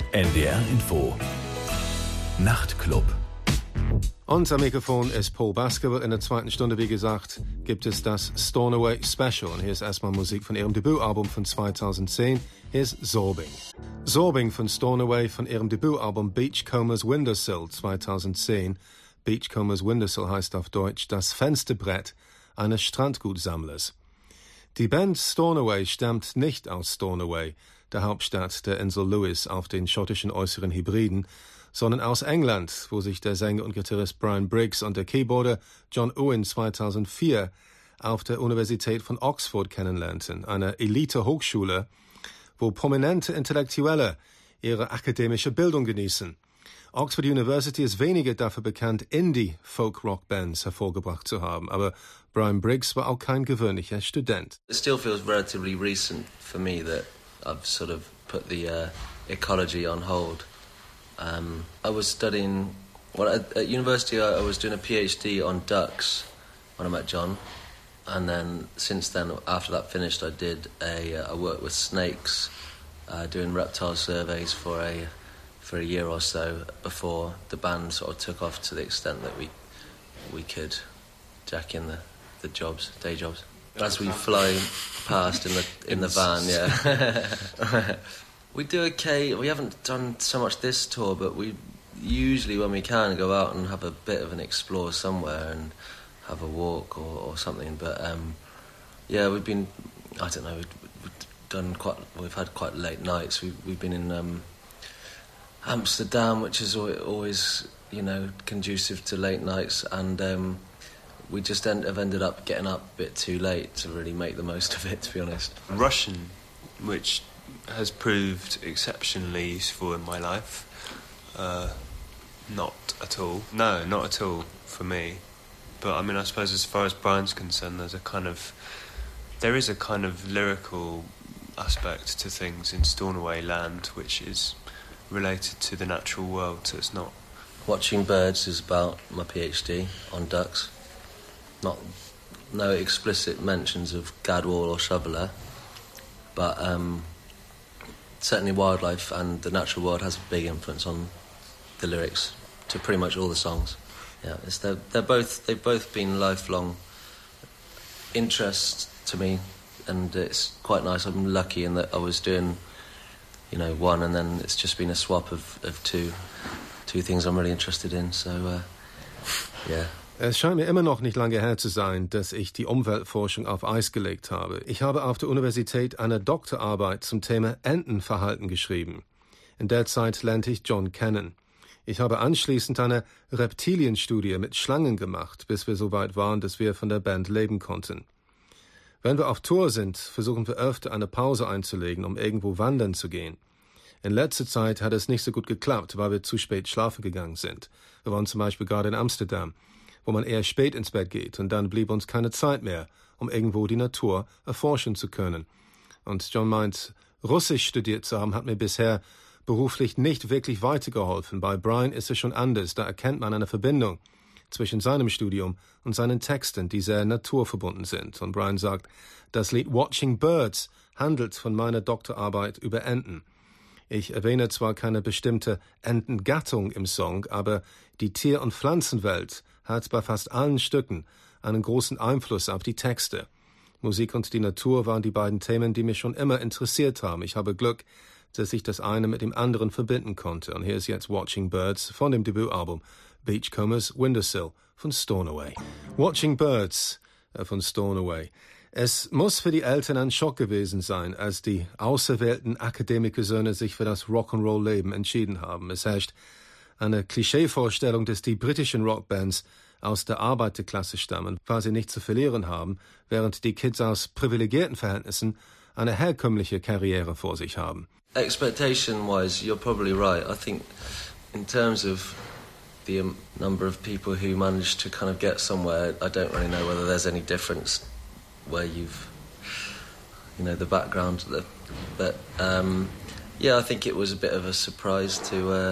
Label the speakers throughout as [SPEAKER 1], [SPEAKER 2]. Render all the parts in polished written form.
[SPEAKER 1] NDR Info Nachtclub.
[SPEAKER 2] Und am Mikrofon ist Paul Baskerville. In der zweiten Stunde, wie gesagt, gibt es das Stornoway Special. Und hier ist erstmal Musik von ihrem Debütalbum von 2010. Hier ist Zorbing. Zorbing von Stornoway von ihrem Debütalbum Beachcombers Windowsill 2010. Beachcombers Windowsill heißt auf Deutsch das Fensterbrett eines Strandgutsammlers. Die Band Stornoway stammt nicht aus Stornoway, der Hauptstadt der Insel Lewis auf den schottischen Äußeren Hebriden, sondern aus England, wo sich der Sänger und Gitarrist Brian Briggs und der Keyboarder John Owen 2004 auf der Universität von Oxford kennenlernten, einer Elite-Hochschule, wo prominente Intellektuelle ihre akademische Bildung genießen. Oxford University ist weniger dafür bekannt, Indie-Folk-Rock-Bands hervorgebracht zu haben, aber Brian Briggs war auch kein gewöhnlicher Student.
[SPEAKER 3] It still feels relatively recent for me that I've sort of put the ecology on hold. I was studying, at university I was doing a PhD on ducks when I met John, and then since then, after that finished, I did I worked with snakes, doing reptile surveys for a year or so before the band sort of took off to the extent that we could jack in the jobs, day jobs. As we fly past in the van, yeah. We do okay. We haven't done so much this tour, but we usually, when we can, go out and have a bit of an explore somewhere and have a walk or something. But yeah, we've been, I don't know, we've had quite late nights. We've been in Amsterdam, which is always, you know, conducive to late nights, and we just have ended up getting up a bit too late to really make the most of it, to be honest.
[SPEAKER 4] Russian, which has proved exceptionally useful in my life. Not at all. No, not at all for me. But I mean, I suppose as far as Brian's concerned, there is a kind of lyrical aspect to things in Stornoway Land, which is related to the natural world, so it's not...
[SPEAKER 3] Watching Birds is about my PhD on ducks. No explicit mentions of Gadwall or Shoveler, but certainly wildlife and the natural world has a big influence on the lyrics to pretty much all the songs. Yeah, they've both been lifelong interests to me, and it's quite nice. I'm lucky in that I was doing, you know, one, and then it's just been a swap of two things I'm really interested in. So, yeah.
[SPEAKER 2] Es scheint mir immer noch nicht lange her zu sein, dass ich die Umweltforschung auf Eis gelegt habe. Ich habe auf der Universität eine Doktorarbeit zum Thema Entenverhalten geschrieben. In der Zeit lernte ich John kennen. Ich habe anschließend eine Reptilienstudie mit Schlangen gemacht, bis wir so weit waren, dass wir von der Band leben konnten. Wenn wir auf Tour sind, versuchen wir öfter eine Pause einzulegen, um irgendwo wandern zu gehen. In letzter Zeit hat es nicht so gut geklappt, weil wir zu spät schlafen gegangen sind. Wir waren zum Beispiel gerade in Amsterdam, wo man eher spät ins Bett geht, und dann blieb uns keine Zeit mehr, um irgendwo die Natur erforschen zu können. Und John meint, Russisch studiert zu haben, hat mir bisher beruflich nicht wirklich weitergeholfen. Bei Brian ist es schon anders, da erkennt man eine Verbindung zwischen seinem Studium und seinen Texten, die sehr naturverbunden sind. Und Brian sagt, das Lied Watching Birds handelt von meiner Doktorarbeit über Enten. Ich erwähne zwar keine bestimmte Entengattung im Song, aber die Tier- und Pflanzenwelt hat bei fast allen Stücken einen großen Einfluss auf die Texte. Musik und die Natur waren die beiden Themen, die mich schon immer interessiert haben. Ich habe Glück, dass ich das eine mit dem anderen verbinden konnte. Und hier ist jetzt Watching Birds von dem Debütalbum Beachcombers Windowsill von Stornoway. Watching Birds von Stornoway. Es muss für die Eltern ein Schock gewesen sein, als die auserwählten Akademikersöhne sich für das Rock'n'Roll-Leben entschieden haben. Es herrscht eine Klischeevorstellung, dass die britischen Rockbands aus der Arbeiterklasse stammen, weil sie nichts zu verlieren haben, während die Kids aus privilegierten Verhältnissen eine herkömmliche Karriere vor sich haben.
[SPEAKER 3] Expectation-wise, you're probably right. I think in terms of the number of people who manage to kind of get somewhere, I don't really know whether there's any difference where you've, you know, the background. But yeah, I think it was a bit of a surprise to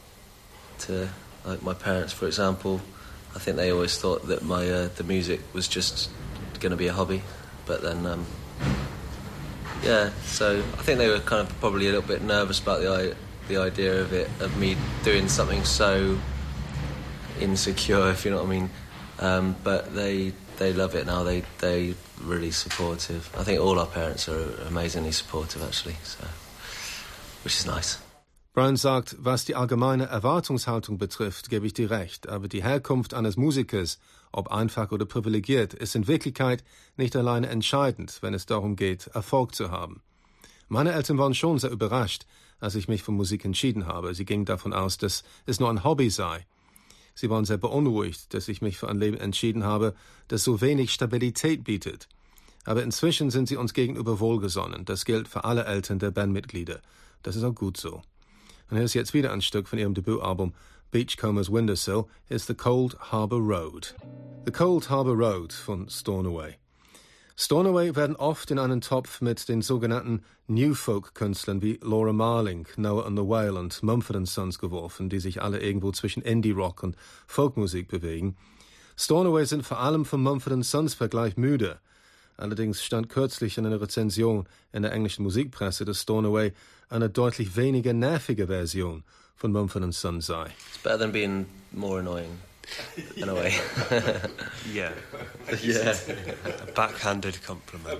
[SPEAKER 3] like my parents, for example. I think they always thought that my the music was just going to be a hobby, but then yeah, so I think they were kind of probably a little bit nervous about the idea of me doing something so insecure, if you know what I mean. But they love it now. They really supportive. I think all our parents are amazingly supportive, actually, so, which is nice.
[SPEAKER 2] Brian sagt, was die allgemeine Erwartungshaltung betrifft, gebe ich dir recht, aber die Herkunft eines Musikers, ob einfach oder privilegiert, ist in Wirklichkeit nicht alleine entscheidend, wenn es darum geht, Erfolg zu haben. Meine Eltern waren schon sehr überrascht, als ich mich für Musik entschieden habe. Sie gingen davon aus, dass es nur ein Hobby sei. Sie waren sehr beunruhigt, dass ich mich für ein Leben entschieden habe, das so wenig Stabilität bietet. Aber inzwischen sind sie uns gegenüber wohlgesonnen. Das gilt für alle Eltern der Bandmitglieder. Das ist auch gut so. Und hier ist jetzt wieder ein Stück von ihrem Debütalbum Beachcombers Windowsill, ist The Cold Harbour Road. The Cold Harbour Road von Stornoway. Stornoway werden oft in einen Topf mit den sogenannten New Folk-Künstlern wie Laura Marling, Noah and the Whale und Mumford & Sons geworfen, die sich alle irgendwo zwischen Indie-Rock und Folkmusik bewegen. Stornoway sind vor allem vom Mumford & Sons Vergleich müde. Allerdings stand kürzlich in einer Rezension in der englischen Musikpresse, dass Stornoway eine deutlich weniger nervige Version von Mumford & Sons sei.
[SPEAKER 3] It's better than being more annoying, in a way.
[SPEAKER 4] Yeah.
[SPEAKER 3] Yeah.
[SPEAKER 4] A backhanded compliment.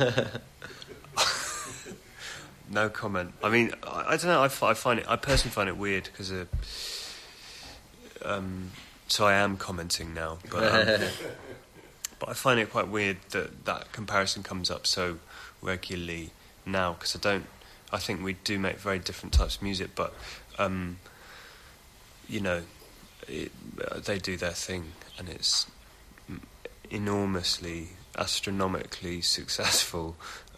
[SPEAKER 4] No comment. I mean, I don't know. I personally find it weird because, so I am commenting now, but I find it quite weird that comparison comes up so regularly now because I think we do make very different types of music, but you know, they do their thing and it's enormously, astronomically successful,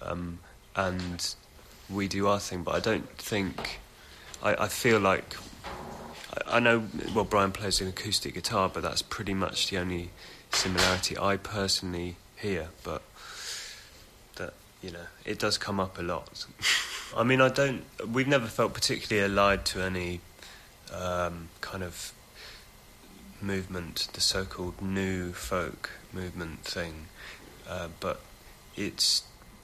[SPEAKER 4] and we do our thing, but I don't think... I feel like... I know, well, Brian plays an acoustic guitar, but that's pretty much the only similarity I personally hear, but that, you know, it does come up a lot. I mean, we've never felt particularly allied to any kind of movement, the so-called new folk movement thing, but it's...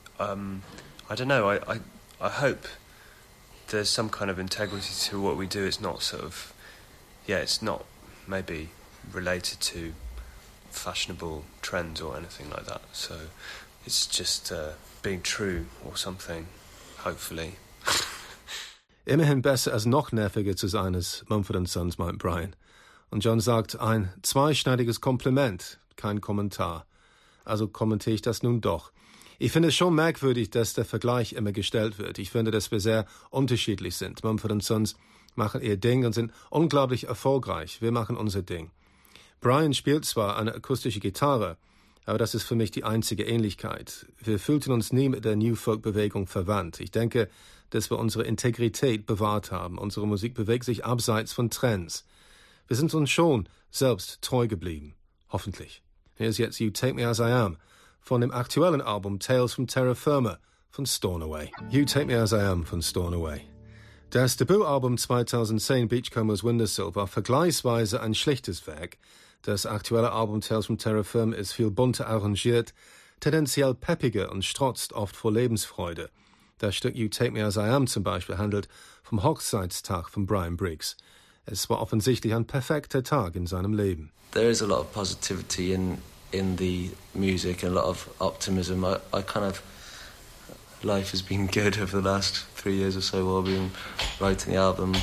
[SPEAKER 4] I don't know, I hope there's some kind of integrity to what we do. It's not sort of... Yeah, it's not maybe related to fashionable trends or anything like that. So it's just being true or something, hopefully.
[SPEAKER 2] Immerhin besser als noch nerviger zu sein als Mumford & Sons, meint Brian. Und John sagt, ein zweischneidiges Kompliment, kein Kommentar. Also kommentiere ich das nun doch. Ich finde es schon merkwürdig, dass der Vergleich immer gestellt wird. Ich finde, dass wir sehr unterschiedlich sind. Mumford & Sons machen ihr Ding und sind unglaublich erfolgreich. Wir machen unser Ding. Brian spielt zwar eine akustische Gitarre, aber das ist für mich die einzige Ähnlichkeit. Wir fühlten uns nie mit der New Folk-Bewegung verwandt. Ich denke, dass wir unsere Integrität bewahrt haben. Unsere Musik bewegt sich abseits von Trends. Wir sind uns schon selbst treu geblieben. Hoffentlich. Hier ist jetzt You Take Me As I Am von dem aktuellen Album Tales from Terra Firma von Stornoway. You Take Me As I Am von Stornoway. Das Debütalbum 2010 Beachcombers Windowsill war vergleichsweise ein schlichtes Werk. Das aktuelle Album Tales from Terra Firma ist viel bunter arrangiert, tendenziell peppiger und strotzt oft vor Lebensfreude. Das Stück You Take Me As I Am zum Beispiel handelt vom Hochzeitstag von Brian Briggs. Es war offensichtlich ein perfekter Tag in seinem Leben.
[SPEAKER 3] There is a lot of positivity in the music and a lot of optimism. I kind of... Life has been good over the last 3 years or so while I've been writing the album.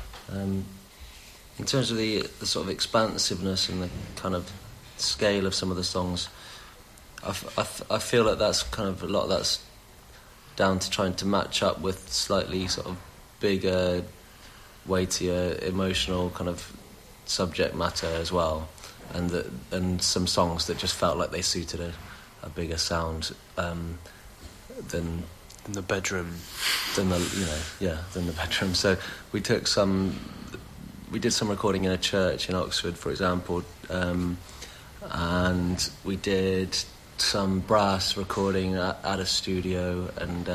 [SPEAKER 3] In terms of the sort of expansiveness and the kind of scale of some of the songs, I feel like that's kind of a lot of that's down to trying to match up with slightly sort of bigger, weightier, emotional kind of subject matter as well, and some songs that just felt like they suited a bigger sound than
[SPEAKER 4] the bedroom.
[SPEAKER 3] Than the bedroom. So we did some recording in a church in Oxford, for example, and we did some brass recording at a studio, and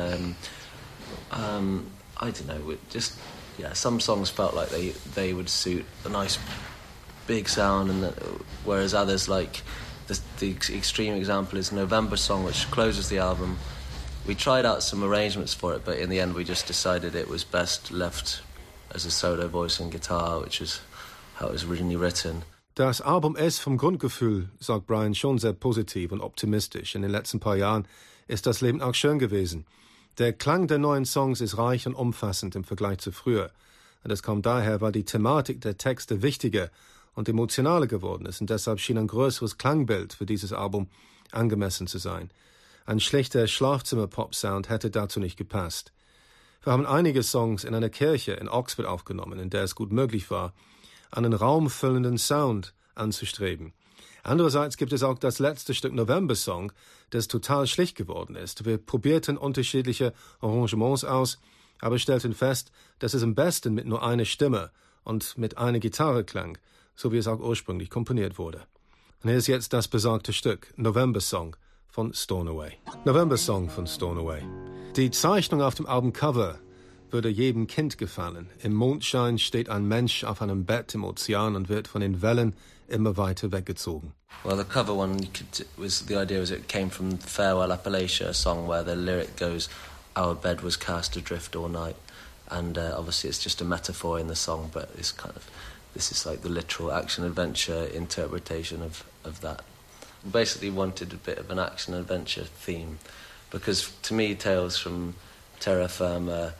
[SPEAKER 3] I don't know, some songs felt like they would suit a nice big sound, and whereas others, like the extreme example is November Song, which closes the album. We tried out some arrangements for it, but in the end we just decided it was best left as a solo voice and guitar, which was how it was originally written.
[SPEAKER 2] Das Album ist vom Grundgefühl, sagt Brian, schon sehr positiv und optimistisch. In den letzten paar Jahren ist das Leben auch schön gewesen. Der Klang der neuen Songs ist reich und umfassend im Vergleich zu früher. Und das kommt daher, weil die Thematik der Texte wichtiger und emotionaler geworden ist. Und deshalb schien ein größeres Klangbild für dieses Album angemessen zu sein. Ein schlechter Schlafzimmer-Pop-Sound hätte dazu nicht gepasst. Wir haben einige Songs in einer Kirche in Oxford aufgenommen, in der es gut möglich war, einen raumfüllenden Sound anzustreben. Andererseits gibt es auch das letzte Stück November-Song, das total schlicht geworden ist. Wir probierten unterschiedliche Arrangements aus, aber stellten fest, dass es am besten mit nur einer Stimme und mit einer Gitarre klang, so wie es auch ursprünglich komponiert wurde. Und hier ist jetzt das besagte Stück, November-Song von Stornoway. November-Song von Stornoway. Die Zeichnung auf dem Albumcover würde jedem Kind gefallen. Im Mondschein steht ein Mensch auf einem Bett im Ozean und wird von den Wellen immer weiter weggezogen.
[SPEAKER 3] Well, the cover one, the idea was it came from Farewell Appalachia, a song where the lyric goes, "Our bed was cast adrift all night," and obviously it's just a metaphor in the song, but this is like the literal action-adventure interpretation of that. We basically wanted a bit of an action-adventure theme, because to me, Tales from Terra Firma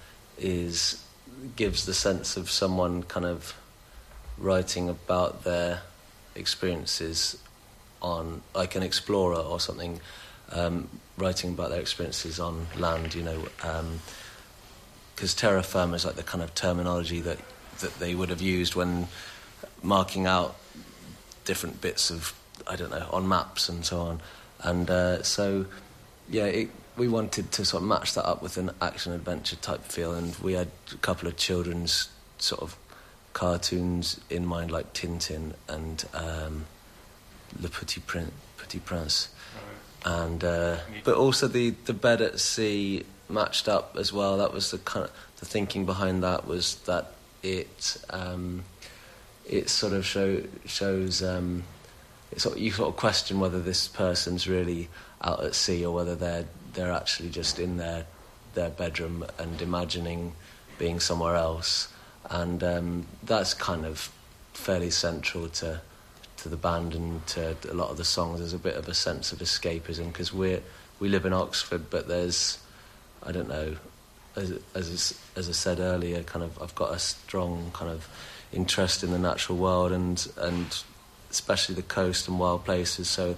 [SPEAKER 3] gives the sense of someone kind of writing about their experiences on, like an explorer or something, writing about their experiences on land, you know, because terra firma is like the kind of terminology that they would have used when marking out different bits of, I don't know, on maps and so on. And so, yeah, we wanted to sort of match that up with an action-adventure type feel, and we had a couple of children's sort of cartoons in mind, like Tintin and Le Petit Prince. And but also the bed at sea matched up as well. That was the kind of the thinking behind that, was that it sort of shows you sort of question whether this person's really out at sea or whether they're actually just in their bedroom and imagining being somewhere else. And that's kind of fairly central to the band and to a lot of the songs. There's a bit of a sense of escapism, because we live in Oxford, but there's, I don't know, as I said earlier, kind of I've got a strong kind of interest in the natural world and especially the coast and wild places. So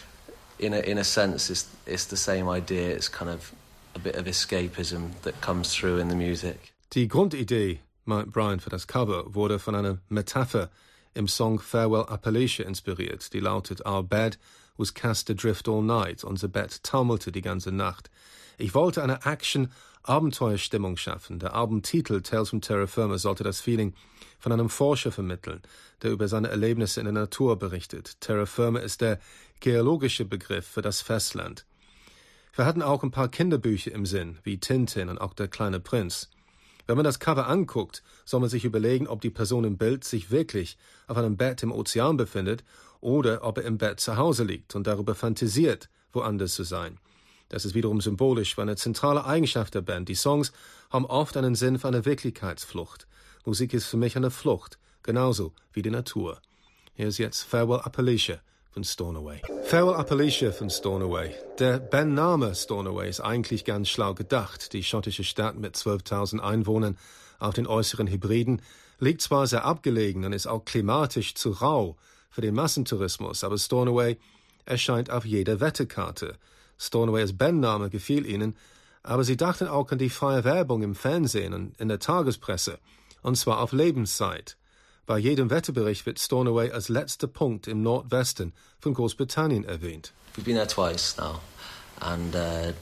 [SPEAKER 3] in a sense, it's the same idea. It's kind of a bit of escapism that comes through in the music.
[SPEAKER 2] Die Grundidee, meint Brian, für das Cover wurde von einer Metapher im Song Farewell Appalachia inspiriert, die lautet: Our bed was cast adrift all night. Unser Bett taumelte die ganze Nacht. Ich wollte eine Action-Abenteuerstimmung schaffen. Der Albumtitel Tales from Terra Firma sollte das Feeling von einem Forscher vermitteln, der über seine Erlebnisse in der Natur berichtet. Terra Firma ist der geologische Begriff für das Festland. Wir hatten auch ein paar Kinderbücher im Sinn, wie Tintin und auch Der kleine Prinz. Wenn man das Cover anguckt, soll man sich überlegen, ob die Person im Bild sich wirklich auf einem Bett im Ozean befindet oder ob er im Bett zu Hause liegt und darüber fantasiert, woanders zu sein. Das ist wiederum symbolisch für eine zentrale Eigenschaft der Band. Die Songs haben oft einen Sinn für eine Wirklichkeitsflucht. Musik ist für mich eine Flucht, genauso wie die Natur. Hier ist jetzt Farewell Appalachia von Stornoway. Farewell Appalachia von Stornoway. Der Bandname Stornoway ist eigentlich ganz schlau gedacht. Die schottische Stadt mit 12.000 Einwohnern auf den äußeren Hebriden liegt zwar sehr abgelegen und ist auch klimatisch zu rau für den Massentourismus, aber Stornoway erscheint auf jeder Wetterkarte. Stornoway als Bandname gefiel ihnen, aber sie dachten auch an die freie Werbung im Fernsehen und in der Tagespresse, und zwar auf Lebenszeit. Bei jedem Wetterbericht wird Stornoway als letzter Punkt im Nordwesten von Großbritannien erwähnt.
[SPEAKER 3] We've been there twice now, and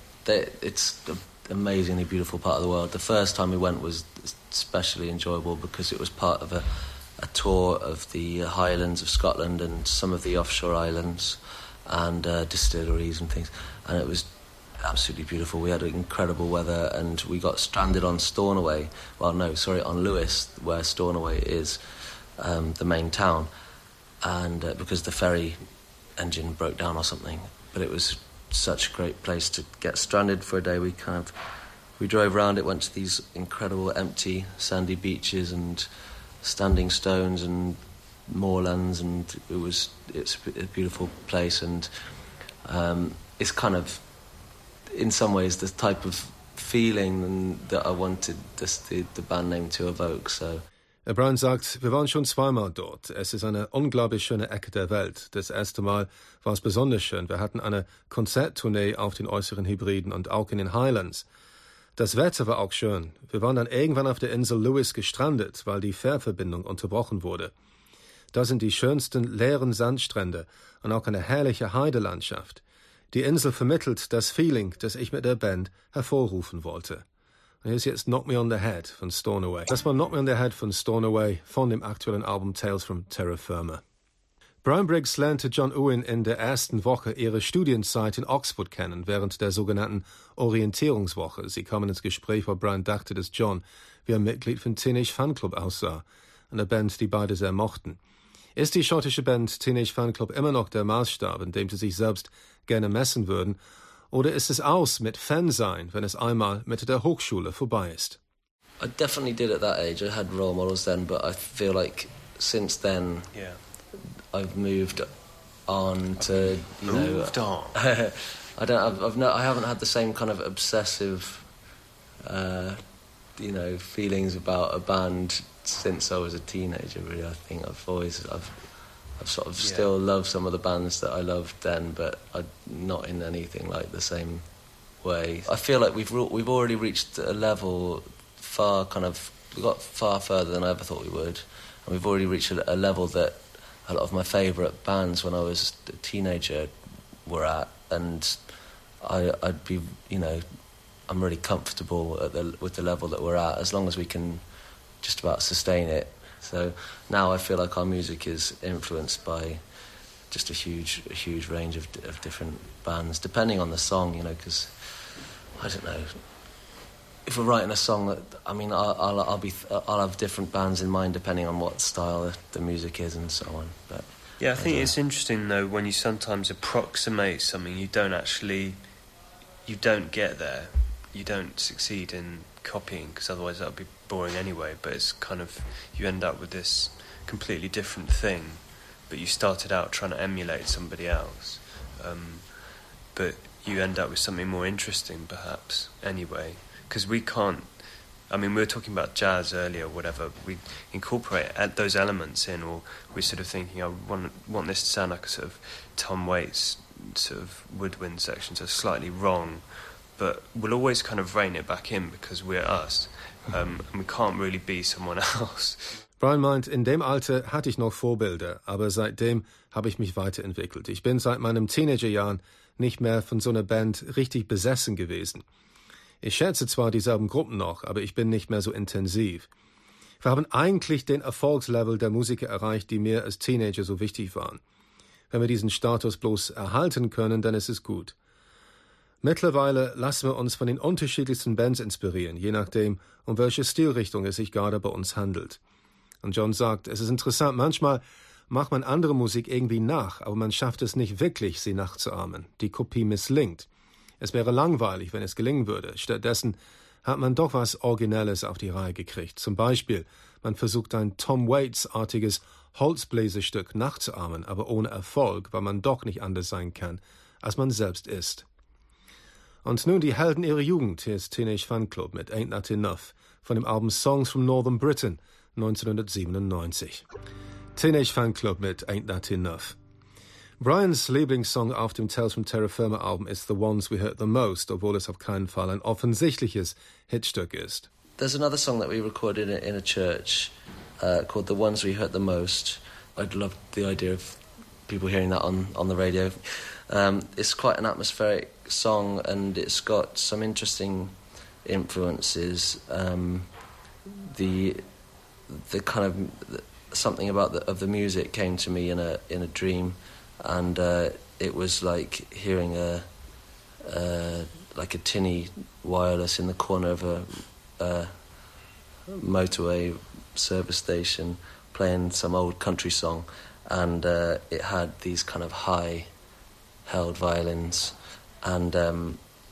[SPEAKER 3] it's an amazingly beautiful part of the world. The first time we went was especially enjoyable because it was part of a tour of the Highlands of Scotland and some of the offshore islands and distilleries and things, and it was absolutely beautiful. We had incredible weather, and we got stranded on Stornoway. Well, no, sorry, on Lewis, where Stornoway is, the main town, and because the ferry engine broke down or something. But it was such a great place to get stranded for a day. We kind of we drove around it, went to these incredible empty sandy beaches and standing stones and moorlands, and it's a beautiful place, and it's kind of in some ways the type of feeling that I wanted the band name to evoke. So
[SPEAKER 2] Brian sagt, wir waren schon zweimal dort. Es ist eine unglaublich schöne Ecke der Welt. Das erste Mal war es besonders schön. Wir hatten eine Konzerttournee auf den Äußeren Hebriden und auch in den Highlands. Das Wetter war auch schön. Wir waren dann irgendwann auf der Insel Lewis gestrandet, weil die Fährverbindung unterbrochen wurde. Da sind die schönsten leeren Sandstrände und auch eine herrliche Heidelandschaft. Die Insel vermittelt das Feeling, das ich mit der Band hervorrufen wollte. Und hier ist jetzt Knock Me on the Head von Stornoway. Das war Knock Me on the Head von Stornoway von dem aktuellen Album Tales from Terra Firma. Brian Briggs lernte John Owen in der ersten Woche ihrer Studienzeit in Oxford kennen, während der sogenannten Orientierungswoche. Sie kamen ins Gespräch, weil Brian dachte, dass John wie ein Mitglied von Teenage Fanclub aussah, einer Band, die beide sehr mochten. Ist die schottische Band Teenage Fanclub immer noch der Maßstab, in dem sie sich selbst gerne messen würden, oder ist es aus mit Fansein, wenn es einmal mit der Hochschule vorbei ist?
[SPEAKER 3] I definitely did at that age. I had role models then, but I feel like since then I've moved on to, you know...
[SPEAKER 4] Moved on?
[SPEAKER 3] I haven't had the same kind of obsessive, feelings about a band since I was a teenager, really. I think I've sort of still loved some of the bands that I loved then, but not in anything like the same way. I feel like we've already reached a level we got far further than I ever thought we would, and we've already reached a level that a lot of my favourite bands when I was a teenager were at, and I'd be, I'm really comfortable with the level that we're at, as long as we can just about sustain it. So now I feel like our music is influenced by just a huge range of different bands, depending on the song, because I don't know. If we're writing a song, I'll have different bands in mind depending on what style the music is and so on. But
[SPEAKER 4] I think it's interesting though when you sometimes approximate something, you don't get there, you don't succeed in copying, because otherwise that would be boring anyway. But it's kind of, you end up with this completely different thing, but you started out trying to emulate somebody else, but you end up with something more interesting perhaps anyway, because we can't, we were talking about jazz earlier, whatever, we incorporate those elements in, or we're sort of thinking, I want this to sound like a sort of Tom Waits sort of woodwind section, so slightly wrong, but we'll always kind of rein it back in because we're us, and we can't really be someone else.
[SPEAKER 2] Brian meint, in dem Alter hatte ich noch Vorbilder, aber seitdem habe ich mich weiterentwickelt. Ich bin seit meinen Teenagerjahren nicht mehr von so einer Band richtig besessen gewesen. Ich schätze zwar dieselben Gruppen noch, aber ich bin nicht mehr so intensiv. Wir haben eigentlich den Erfolgslevel der Musiker erreicht, die mir als Teenager so wichtig waren. Wenn wir diesen Status bloß erhalten können, dann ist es gut. Mittlerweile lassen wir uns von den unterschiedlichsten Bands inspirieren, je nachdem, um welche Stilrichtung es sich gerade bei uns handelt. Und John sagt, es ist interessant, manchmal macht man andere Musik irgendwie nach, aber man schafft es nicht wirklich, sie nachzuahmen. Die Kopie misslingt. Es wäre langweilig, wenn es gelingen würde. Stattdessen hat man doch was Originelles auf die Reihe gekriegt. Zum Beispiel, man versucht ein Tom Waits-artiges Holzbläserstück nachzuahmen, aber ohne Erfolg, weil man doch nicht anders sein kann, als man selbst ist. Und nun die Helden ihrer Jugend. Hier ist Teenage Fanclub mit Ain't That Enough von dem Album Songs from Northern Britain 1997. Teenage Fanclub mit Ain't That Enough. Brians Lieblingssong auf dem Tales from Terra Firma Album ist The Ones We Hurt the Most, obwohl es auf keinen Fall ein offensichtliches Hitstück ist.
[SPEAKER 3] There's another song that we recorded in a church called The Ones We Hurt the Most. I'd love the idea of people hearing that on the radio. It's quite an atmospheric song, and it's got some interesting influences. The kind of something about the music came to me in a dream, and it was like hearing a tinny wireless in the corner of a motorway service station playing some old country song, and it had these kind of high held violins, and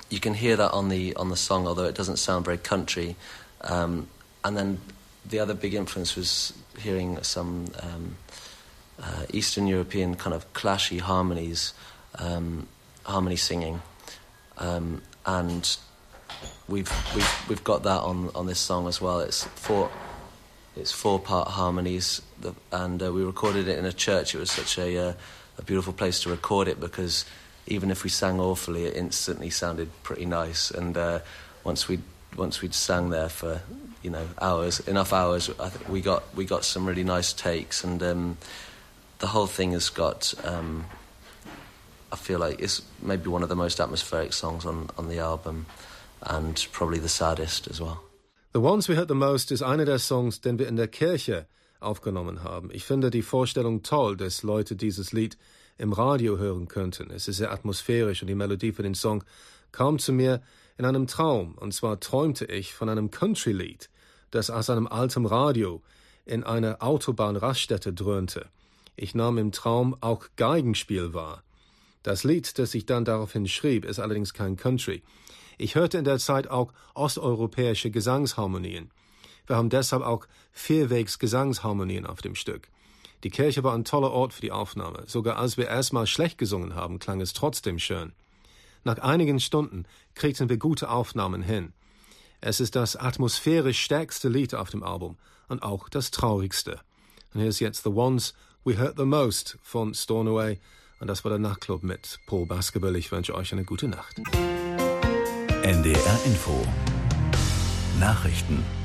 [SPEAKER 3] you can hear that on the song, although it doesn't sound very country. And then the other big influence was hearing some Eastern European kind of clashy harmonies, harmony singing, and we've got that on this song as well. It's 4-part harmonies, and we recorded it in a church. It was such a beautiful place to record it, because even if we sang awfully, it instantly sounded pretty nice. And once we'd sang there for enough hours, I think we got some really nice takes, and the whole thing has got. I feel like it's maybe one of the most atmospheric songs on the album, and probably the saddest as well.
[SPEAKER 2] The Ones We Heard the Most ist einer der Songs, den wir in der Kirche aufgenommen haben. Ich finde die Vorstellung toll, dass Leute dieses Lied im Radio hören könnten. Es ist sehr atmosphärisch und die Melodie für den Song kam zu mir in einem Traum. Und zwar träumte ich von einem Country-Lied, das aus einem alten Radio in einer Autobahnraststätte dröhnte. Ich nahm im Traum auch Geigenspiel wahr. Das Lied, das ich dann daraufhin schrieb, ist allerdings kein Country. Ich hörte in der Zeit auch osteuropäische Gesangsharmonien. Wir haben deshalb auch Vierwegs-Gesangsharmonien auf dem Stück. Die Kirche war ein toller Ort für die Aufnahme. Sogar als wir erstmal schlecht gesungen haben, klang es trotzdem schön. Nach einigen Stunden kriegten wir gute Aufnahmen hin. Es ist das atmosphärisch stärkste Lied auf dem Album und auch das traurigste. Und hier ist jetzt The Ones We Heard the Most von Stornoway. Und das war der Nachtclub mit Paul Baskerville. Ich wünsche euch eine gute Nacht.
[SPEAKER 1] NDR Info Nachrichten.